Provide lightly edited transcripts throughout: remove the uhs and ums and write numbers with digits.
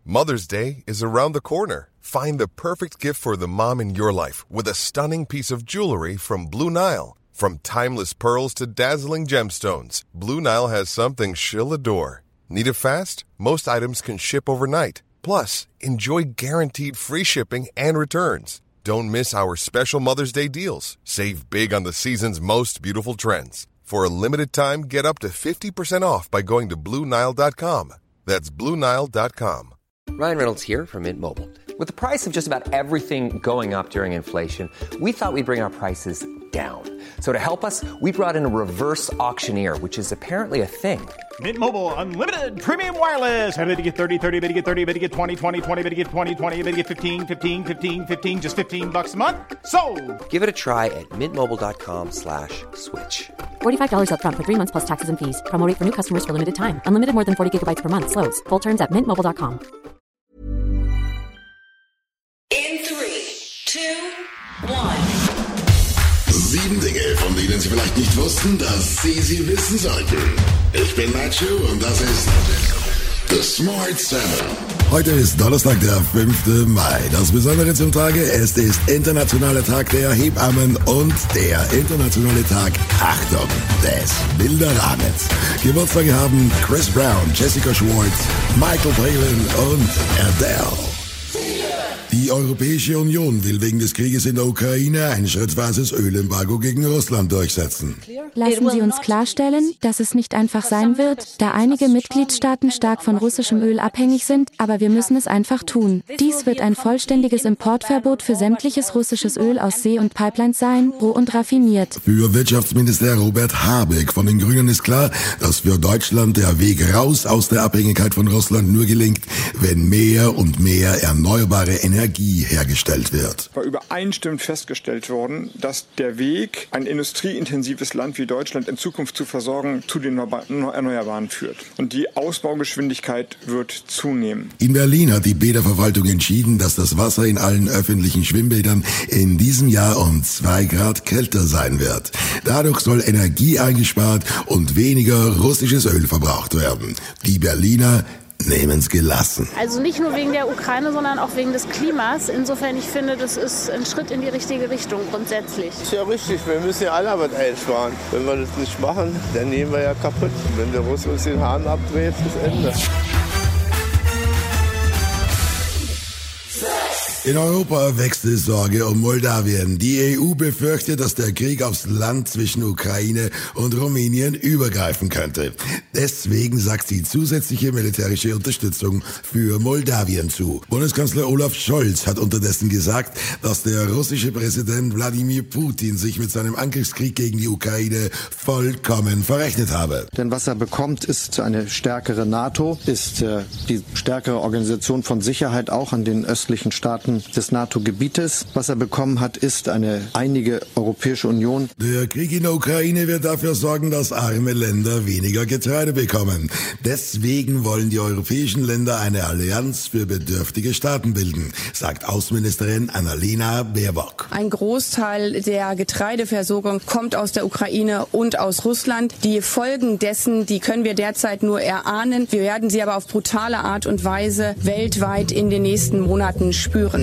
Mother's Day is around the corner. Find the perfect gift for the mom in your life with a stunning piece of jewelry from Blue Nile. From timeless pearls to dazzling gemstones, Blue Nile has something she'll adore. Need it fast? Most items can ship overnight. Plus, enjoy guaranteed free shipping and returns. Don't miss our special Mother's Day deals. Save big on the season's most beautiful trends. For a limited time, get up to 50% off by going to BlueNile.com. That's BlueNile.com. Ryan Reynolds here from Mint Mobile. With the price of just about everything going up during inflation, we thought we'd bring our prices down. So to help us, we brought in a reverse auctioneer, which is apparently a thing. Mint Mobile Unlimited Premium Wireless. How to get 30, 30, bit to get 30, bit to get 20, 20, 20, bit to get 20, 20, bit to get 15, 15, 15, 15, just $15 a month? Sold! Give it a try at mintmobile.com/switch. $45 up front for 3 months plus taxes and fees. Promo rate for new customers for limited time. Unlimited more than 40 gigabytes per month. Slows full terms at mintmobile.com. In 3, 2, 1. 7 Dinge, von denen Sie vielleicht nicht wussten, dass Sie wissen sollten. Ich bin Nacho und das ist The Smart 7. Heute ist Donnerstag, der 5. Mai. Das Besondere zum Tage, es ist Internationaler Tag der Hebammen und der Internationale Tag, Achtung, des Bilderrahmens. Geburtstage haben Chris Brown, Jessica Schwartz, Michael Palin und Adele. Die Europäische Union will wegen des Krieges in der Ukraine ein schrittweises Ölembargo gegen Russland durchsetzen. Lassen Sie uns klarstellen, dass es nicht einfach sein wird, da einige Mitgliedstaaten stark von russischem Öl abhängig sind, aber wir müssen es einfach tun. Dies wird ein vollständiges Importverbot für sämtliches russisches Öl aus See- und Pipelines sein, roh und raffiniert. Für Wirtschaftsminister Robert Habeck von den Grünen ist klar, dass für Deutschland der Weg raus aus der Abhängigkeit von Russland nur gelingt, wenn mehr und mehr erneuerbare Energie hergestellt wird. War übereinstimmend festgestellt worden, dass der Weg, ein industrieintensives Land wie Deutschland in Zukunft zu versorgen, zu den Erneuerbaren führt. Und die Ausbaugeschwindigkeit wird zunehmen. In Berlin hat die Bäderverwaltung entschieden, dass das Wasser in allen öffentlichen Schwimmbädern in diesem Jahr um 2 Grad kälter sein wird. Dadurch soll Energie eingespart und weniger russisches Öl verbraucht werden. Die Berliner nehmen's gelassen. Also nicht nur wegen der Ukraine, sondern auch wegen des Klimas. Insofern, ich finde, das ist ein Schritt in die richtige Richtung grundsätzlich. Ist ja richtig, wir müssen ja alle was einsparen. Wenn wir das nicht machen, dann nehmen wir ja kaputt. Wenn der Russe uns den Hahn abdreht, ist das Ende. In Europa wächst die Sorge um Moldawien. Die EU befürchtet, dass der Krieg aufs Land zwischen Ukraine und Rumänien übergreifen könnte. Deswegen sagt sie zusätzliche militärische Unterstützung für Moldawien zu. Bundeskanzler Olaf Scholz hat unterdessen gesagt, dass der russische Präsident Wladimir Putin sich mit seinem Angriffskrieg gegen die Ukraine vollkommen verrechnet habe. Denn was er bekommt, ist eine stärkere NATO, ist die stärkere Organisation von Sicherheit auch an den östlichen Staaten des NATO-Gebietes. Was er bekommen hat, ist eine einige Europäische Union. Der Krieg in der Ukraine wird dafür sorgen, dass arme Länder weniger Getreide bekommen. Deswegen wollen die europäischen Länder eine Allianz für bedürftige Staaten bilden, sagt Außenministerin Annalena Baerbock. Ein Großteil der Getreideversorgung kommt aus der Ukraine und aus Russland. Die Folgen dessen, die können wir derzeit nur erahnen. Wir werden sie aber auf brutale Art und Weise weltweit in den nächsten Monaten spüren.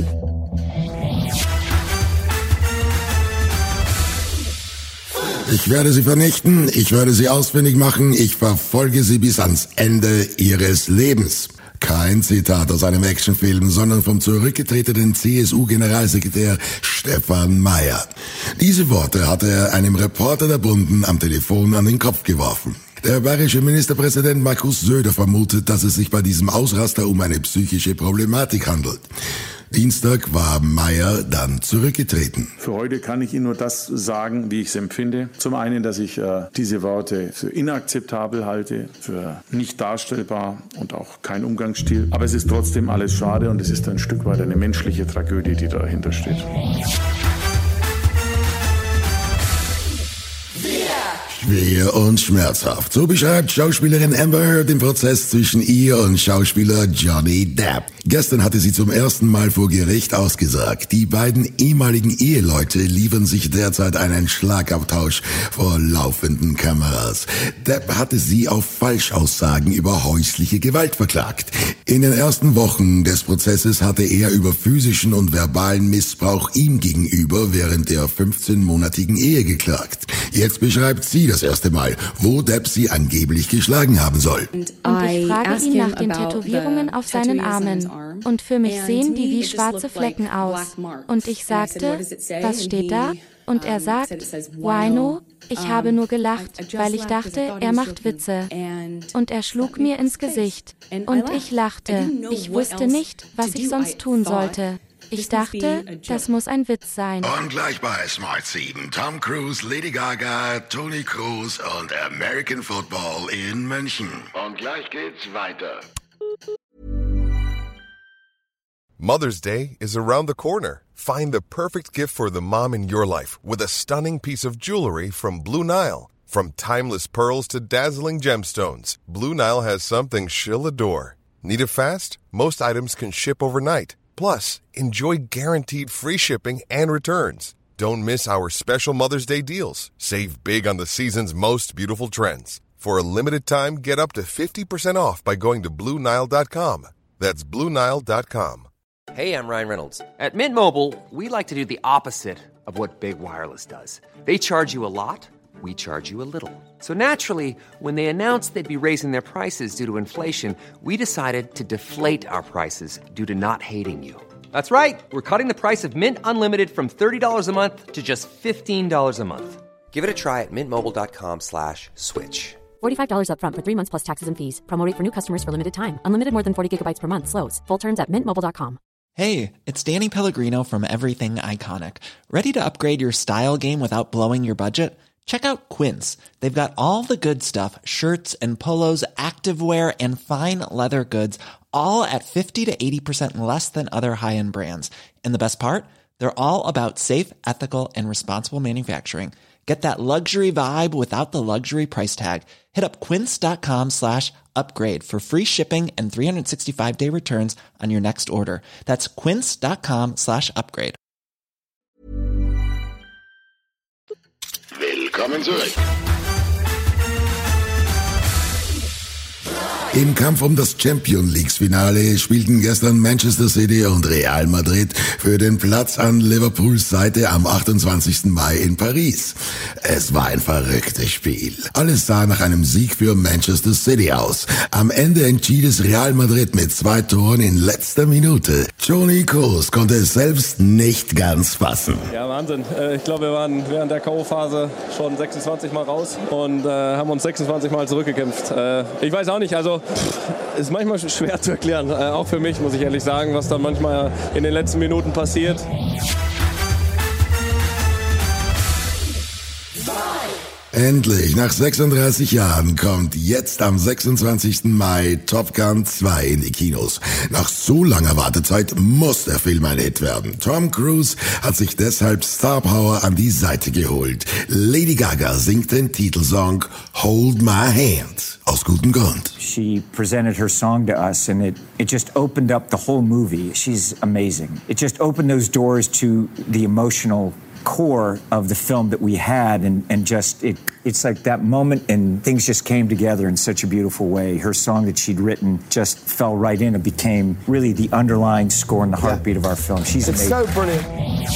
Ich werde sie vernichten, ich werde sie ausfindig machen, ich verfolge sie bis ans Ende ihres Lebens. Kein Zitat aus einem Actionfilm, sondern vom zurückgetretenen CSU-Generalsekretär Stefan Mayer. Diese Worte hatte er einem Reporter der Bunden am Telefon an den Kopf geworfen. Der bayerische Ministerpräsident Markus Söder vermutet, dass es sich bei diesem Ausraster um eine psychische Problematik handelt. Dienstag war Mayer dann zurückgetreten. Für heute kann ich Ihnen nur das sagen, wie ich es empfinde. Zum einen, dass ich diese Worte für inakzeptabel halte, für nicht darstellbar und auch kein Umgangsstil. Aber es ist trotzdem alles schade und es ist ein Stück weit eine menschliche Tragödie, die dahinter steht. Schwer und schmerzhaft. So beschreibt Schauspielerin Amber Heard den Prozess zwischen ihr und Schauspieler Johnny Depp. Gestern hatte sie zum ersten Mal vor Gericht ausgesagt. Die beiden ehemaligen Eheleute liefern sich derzeit einen Schlagabtausch vor laufenden Kameras. Depp hatte sie auf Falschaussagen über häusliche Gewalt verklagt. In den ersten Wochen des Prozesses hatte er über physischen und verbalen Missbrauch ihm gegenüber während der 15-monatigen Ehe geklagt. Jetzt beschreibt sie das erste Mal, wo Depp sie angeblich geschlagen haben soll. Und ich frage ihn nach den Tätowierungen auf seinen Armen. Und für mich sehen die wie schwarze Flecken aus. Und ich sagte, was steht da? Und er sagt, Wino. Ich habe nur gelacht, weil ich dachte, er macht Witze. Und er schlug mir ins Gesicht. Und ich lachte. Ich wusste nicht, was ich sonst tun sollte. Ich dachte, das muss ein Witz sein. Und gleich bei Smart 7, Tom Cruise, Lady Gaga, Toni Kroos und American Football in München. Und gleich geht's weiter. Mother's Day is around the corner. Find the perfect gift for the mom in your life with a stunning piece of jewelry from Blue Nile. From timeless pearls to dazzling gemstones, Blue Nile has something she'll adore. Need it fast? Most items can ship overnight. Plus, enjoy guaranteed free shipping and returns. Don't miss our special Mother's Day deals. Save big on the season's most beautiful trends. For a limited time, get up to 50% off by going to BlueNile.com. That's BlueNile.com. Hey, I'm Ryan Reynolds. At Mint Mobile, we like to do the opposite of what Big Wireless does. They charge you a lot, we charge you a little. So naturally, when they announced they'd be raising their prices due to inflation, we decided to deflate our prices due to not hating you. That's right. We're cutting the price of Mint Unlimited from $30 a month to just $15 a month. Give it a try at mintmobile.com/switch. $45 up front for 3 months plus taxes and fees. Promo rate for new customers for limited time. Unlimited more than 40 gigabytes per month. Slows full terms at mintmobile.com. Hey, it's Danny Pellegrino from Everything Iconic. Ready to upgrade your style game without blowing your budget? Check out Quince. They've got all the good stuff, shirts and polos, activewear, and fine leather goods, all at 50 to 80% less than other high-end brands. And the best part? They're all about safe, ethical, and responsible manufacturing. Get that luxury vibe without the luxury price tag. Hit up quince.com/upgrade for free shipping and 365-day returns on your next order. That's quince.com/upgrade. Willkommen zurück. Im Kampf um das Champions-League-Finale spielten gestern Manchester City und Real Madrid für den Platz an Liverpools Seite am 28. Mai in Paris. Es war ein verrücktes Spiel. Alles sah nach einem Sieg für Manchester City aus. Am Ende entschied es Real Madrid mit 2 Toren in letzter Minute. Toni Kroos konnte es selbst nicht ganz fassen. Ja, Wahnsinn. Ich glaube, wir waren während der K.O.-Phase schon 26 Mal raus und haben uns 26 Mal zurückgekämpft. Ich weiß auch nicht, also ist manchmal schwer zu erklären, auch für mich, muss ich ehrlich sagen, was dann manchmal in den letzten Minuten passiert. Endlich, nach 36 Jahren kommt jetzt am 26. Mai Top Gun 2 in die Kinos. Nach so langer Wartezeit muss der Film ein Hit werden. Tom Cruise hat sich deshalb Star Power an die Seite geholt. Lady Gaga singt den Titelsong Hold My Hand. Aus gutem Grund. She presented her song to us and it just opened up the whole movie. She's amazing. It just opened those doors to the emotional core of the film that we had and just it's like that moment and things just came together in such a beautiful way. Her song that she'd written just fell right in and became really the underlying score and the heartbeat of our film. She's amazing. It's so brilliant.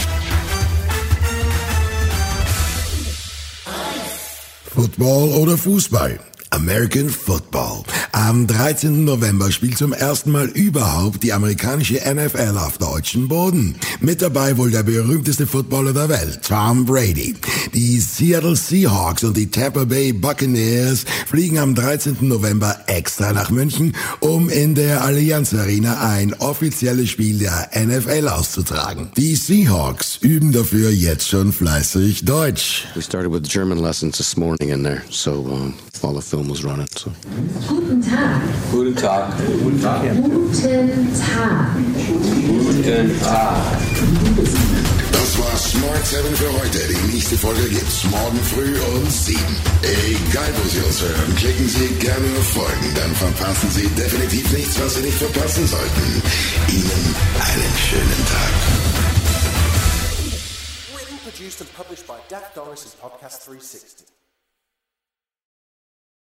Football oder Fußball? American Football. Am 13. November spielt zum ersten Mal überhaupt die amerikanische NFL auf deutschem Boden. Mit dabei wohl der berühmteste Footballer der Welt, Tom Brady. Die Seattle Seahawks und die Tampa Bay Buccaneers fliegen am 13. November extra nach München, um in der Allianz Arena ein offizielles Spiel der NFL auszutragen. Die Seahawks üben dafür jetzt schon fleißig Deutsch. We started with German lessons this morning in there, so while the film was running. So. Guten Tag. Guten Tag. Guten Tag. Guten Tag. Guten Tag. Das war Smart 7 für heute. Die nächste Folge gibt's morgen früh um 7. Egal, wo Sie uns hören, klicken Sie gerne auf Folgen. Dann verpassen Sie definitiv nichts, was Sie nicht verpassen sollten. Ihnen einen schönen Tag. Written, produced and published by Dak Doris' Podcast 360.